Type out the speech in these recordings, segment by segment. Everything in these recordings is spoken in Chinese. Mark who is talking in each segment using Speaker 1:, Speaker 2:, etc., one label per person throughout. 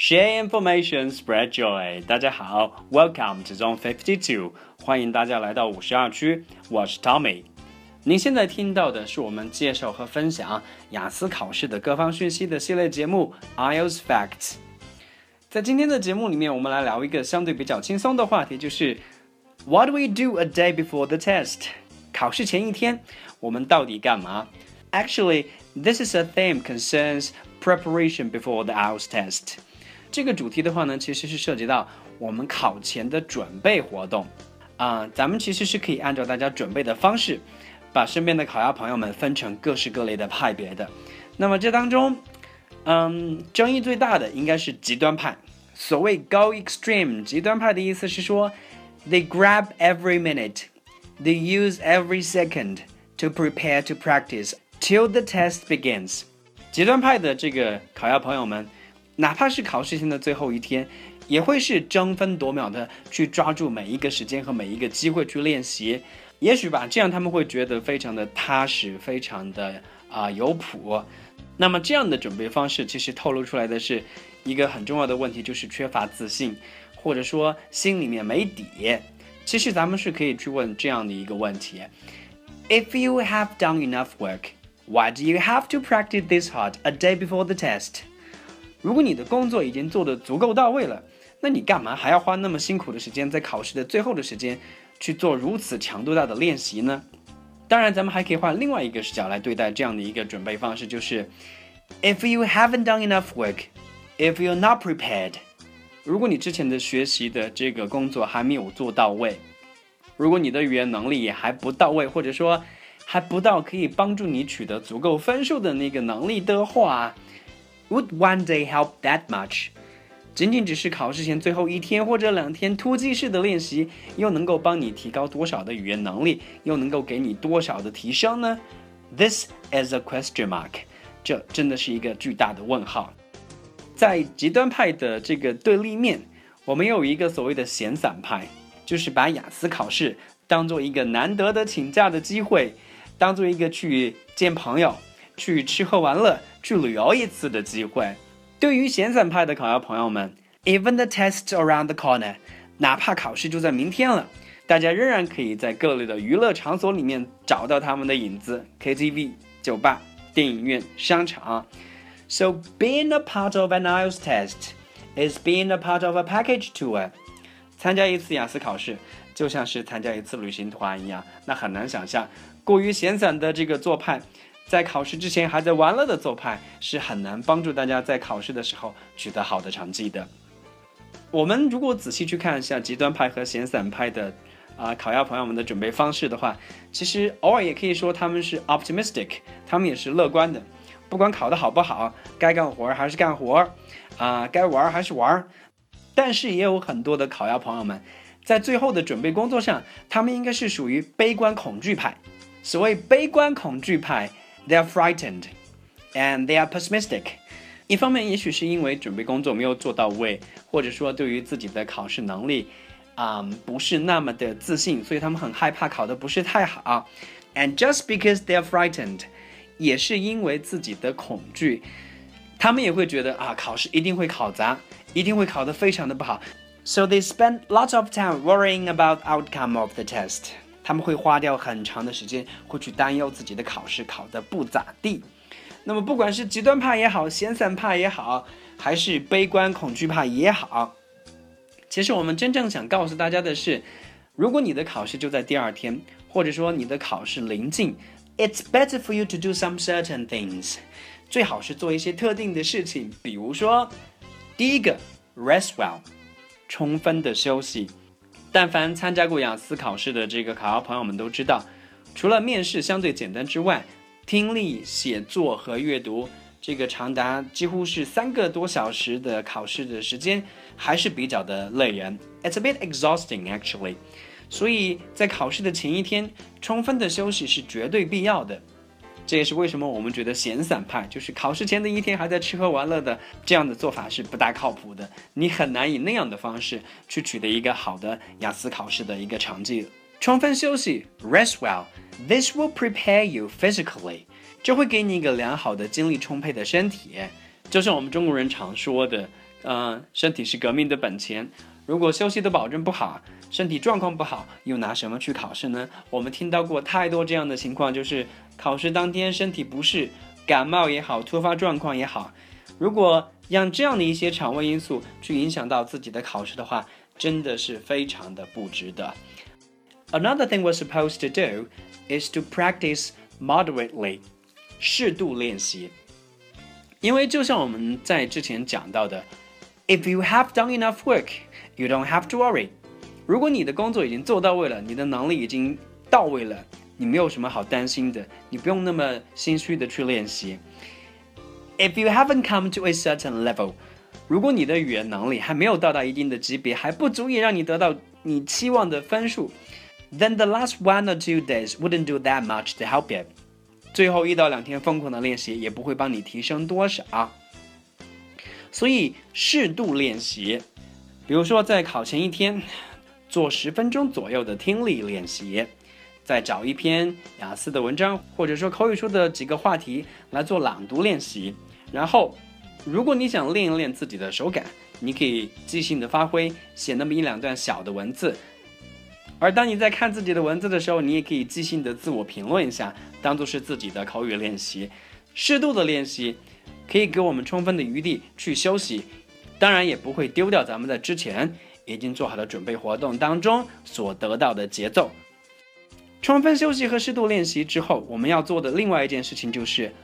Speaker 1: Share information, spread joy. 大家好 ，Welcome to Zone 52，欢迎大家来到52区，我是 Tommy。您现在听到的是我们介绍和分享雅思考试的各方讯息的系列节目 IELTS Facts。在今天的节目里面，我们来聊一个相对比较轻松的话题，就是 What do we do a day before the test？ 考试前一天，我们到底干嘛？ Actually, this is a theme concerns preparation before the IELTS test。这个主题的话呢，其实是涉及到我们考前的准备活动咱们其实是可以按照大家准备的方式，把身边的考研朋友们分成各式各类的派别的。那么这当中，争议最大的应该是极端派。所谓 go extreme， 极端派的意思是说 ，they grab every minute, they use every second to prepare to practice till the test begins。极端派的这个考研朋友们，哪怕是考试前的最后一天，也会是争分夺秒的去抓住每一个时间和每一个机会去练习。也许吧，这样他们会觉得非常的踏实，非常的有谱。那么这样的准备方式其实透露出来的是一个很重要的问题，就是缺乏自信，或者说心里面没底。其实咱们是可以去问这样的一个问题 If you have done enough work, why do you have to practice this hard a day before the test? 如果你的工作已经做得足够到位了，那你干嘛还要花那么辛苦的时间在考试的最后的时间去做如此强度大的练习呢？当然咱们还可以换另外一个视角来对待这样的一个准备方式，就是 If you haven't done enough work, if you're not prepared， 如果你之前的学习的这个工作还没有做到位，如果你的语言能力也还不到位，或者说还不到可以帮助你取得足够分数的那个能力的话， Would one day help that much？ 仅仅只是考试前最后一天或者2天突击式的练习，又能够帮你提高多少的语言能力，又能够给你多少的提升呢？ This is a question mark。 这真的是一个巨大的问号。在极端派的这个对立面，我们有一个所谓的闲散派，就是把雅思考试当做一个难得的请假的机会，当做一个去见朋友，去吃喝玩乐，去旅游一次的机会。对于闲散派的考研朋友们 Even the test's around the corner， 哪怕考试就在明天了，大家仍然可以在各类的娱乐场所里面找到他们的影子， KTV、 酒吧、电影院、商场。 So being a part of an IELTS test is being a part of a package tour。 参加一次雅思考试就像是参加一次旅行团一样，那很难想象过于闲散的这个做派，在考试之前还在玩乐的做派，是很难帮助大家在考试的时候取得好的成绩的。我们如果仔细去看一下极端派和闲散派的考研朋友们的准备方式的话，其实偶尔也可以说他们是 optimistic， 他们也是乐观的。不管考得好不好，该干活还是干活该玩还是玩。但是也有很多的考研朋友们在最后的准备工作上，他们应该是属于悲观恐惧派。所谓悲观恐惧派，They are frightened and they are pessimistic。 一方面也许是因为准备工作没有做到位，或者说对于自己的考试能力不是那么的自信，所以他们很害怕考得不是太好。 And just because they are frightened， 也是因为自己的恐惧，他们也会觉得考试一定会考砸，一定会考得非常的不好。 So they spend lots of time worrying about outcome of the test。他们会花掉很长的时间，会去担忧自己的考试考得不咋地。那么不管是极端派也好，闲散派也好，还是悲观恐惧派也好，其实我们真正想告诉大家的是，如果你的考试就在第2天，或者说你的考试临近， It's better for you to do some certain things。 最好是做一些特定的事情，比如说第一个 rest well， 充分的休息。但凡参加过雅思考试的这个考研朋友们都知道，除了面试相对简单之外，听力、写作和阅读这个长达几乎是3个多小时的考试的时间还是比较的累人。 It's a bit exhausting actually。 所以在考试的前一天，充分的休息是绝对必要的。这也是为什么我们觉得闲散派，就是考试前的一天还在吃喝玩乐的这样的做法是不大靠谱的。你很难以那样的方式去取得一个好的雅思考试的一个成绩。充分休息 rest well， this will prepare you physically， 这会给你一个良好的精力充沛的身体，就像我们中国人常说的身体是革命的本钱，如果休息的保证不好，身体状况不好，又拿什么去考试呢？我们听到过太多这样的情况，就是考试当天身体不适，感冒也好，突发状况也好，如果让这样的一些场外因素去影响到自己的考试的话，真的是非常的不值得。Another thing we're supposed to do is to practice moderately， 适度练习。因为就像我们在之前讲到的 ，If you have done enough work, you don't have to worry。如果你的工作已经做到位了，你的能力已经到位了，你没有什么好担心的，你不用那么心虚的去练习。If you haven't come to a certain level， 如果你的语言能力还没有到达一定的级别，还不足以让你得到你期望的分数， then the last 1 or 2 days wouldn't do that much to help you。最后1到2天疯狂的练习也不会帮你提升多少，所以适度练习，比如说在考前1天做10分钟左右的听力练习，再找一篇雅思的文章，或者说口语书的几个话题来做朗读练习。然后如果你想练一练自己的手感，你可以即兴的发挥，写那么1、2段小的文字，而当你在看自己的文字的时候，你也可以即兴的自我评论一下，当作是自己的口语练习。适度的练习可以给我们充分的余地去休息，当然也不会丢掉咱们在之前已经做好的准备活动当中所得到的节奏。充分休息和适度练习之后，我们要做的另外一件事情就是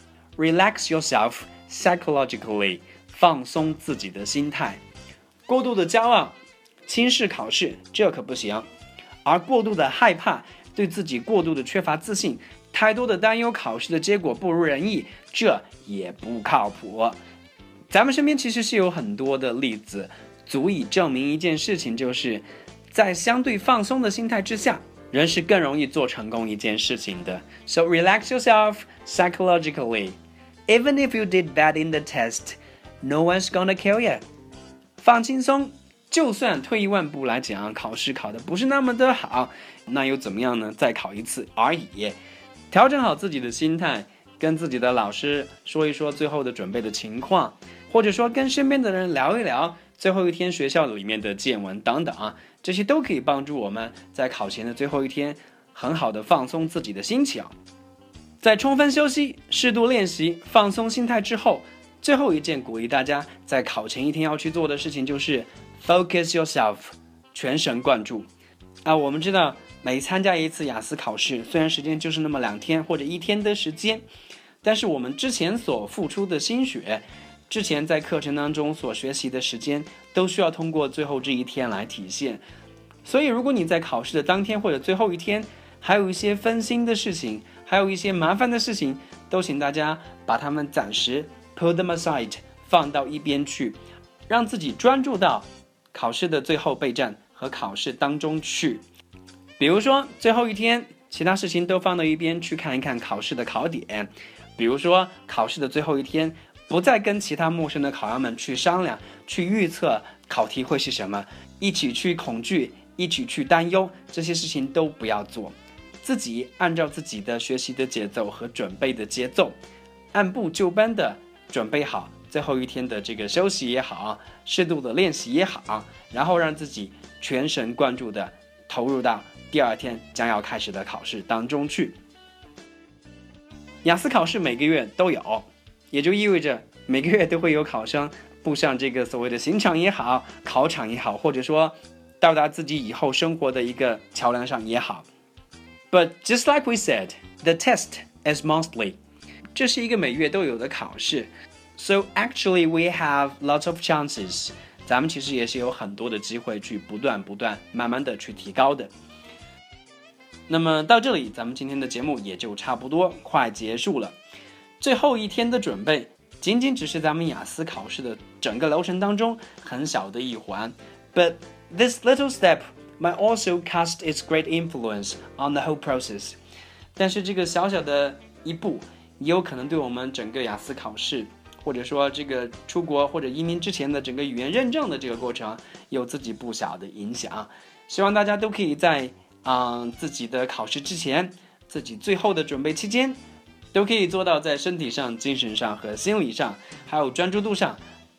Speaker 1: relax yourself psychologically， 放松自己的心态。过度的骄傲轻视考试，这可不行，而过度的害怕，对自己过度的缺乏自信，太多的担忧考试的结果不如人意，这也不靠谱。咱们身边其实是有很多的例子足以证明一件事情，就是在相对放松的心态之下，人是更容易做成功一件事情的。 So relax yourself psychologically. Even if you did bad in the test, no one's gonna kill you. 放轻松，就算退一万步来讲，考试考得不是那么的好，那又怎么样呢？再考一次而已。调整好自己的心态，跟自己的老师说一说最后的准备的情况，或者说跟身边的人聊一聊最后1天学校里面的见闻等等，这些都可以帮助我们在考前的最后1天很好的放松自己的心情。在充分休息、适度练习、放松心态之后，最后一件鼓励大家在考前1天要去做的事情就是 focus yourself， 全神贯注。我们知道每参加一次雅思考试，虽然时间就是那么2天或者1天的时间，但是我们之前所付出的心血，之前在课程当中所学习的时间，都需要通过最后这1天来体现。所以如果你在考试的当天或者最后1天还有一些分心的事情，还有一些麻烦的事情，都请大家把它们暂时 put them aside， 放到一边去，让自己专注到考试的最后备战和考试当中去。比如说最后1天其他事情都放到一边，去看一看考试的考点。比如说考试的最后1天，不再跟其他陌生的考员们去商量，去预测考题会是什么，一起去恐惧，一起去担忧，这些事情都不要做。自己按照自己的学习的节奏和准备的节奏，按部就班的准备好最后1天的这个休息也好，适度的练习也好，然后让自己全神贯注的投入到第2天将要开始的考试当中去。雅思考试每个月都有，也就意味着每个月都会有考生步上这个所谓的刑场也好，考场也好，或者说到达自己以后生活的一个桥梁上也好。But just like we said, the test is monthly. 这是一个每月都有的考试。So actually we have lots of chances. 咱们其实也是有很多的机会去不断慢慢的去提高的。那么到这里，咱们今天的节目也就差不多快结束了。最后1天的准备，仅仅只是咱们雅思考试的整个流程当中很小的一环。But this little step might also cast its great influence on the whole process. 但是这个小小的一步，也有可能对我们整个雅思考试，或者说这个出国或者移民之前的整个语言认证的这个过程，有自己不小的影响。希望大家都可以在自己的考试之前，自己最后的准备期间，都可以做到在身体上、精神上和心理上，还有专注度上，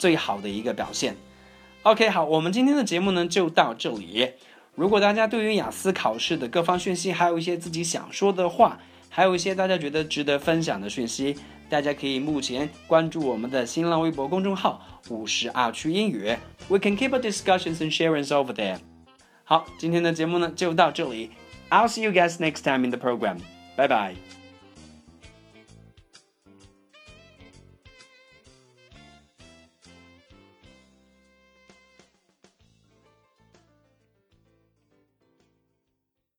Speaker 1: 最好的一个表现。OK， 好，我们今天的节目呢就到这里。如果大家对于雅思考试的各方讯息，还有一些自己想说的话，还有一些大家觉得值得分享的讯息，大家可以目前关注我们的新浪微博公众号52区英语 We can keep our discussions and sharings over there。 好，今天的节目呢就到这里。I'll see you guys next time in the program. Bye bye.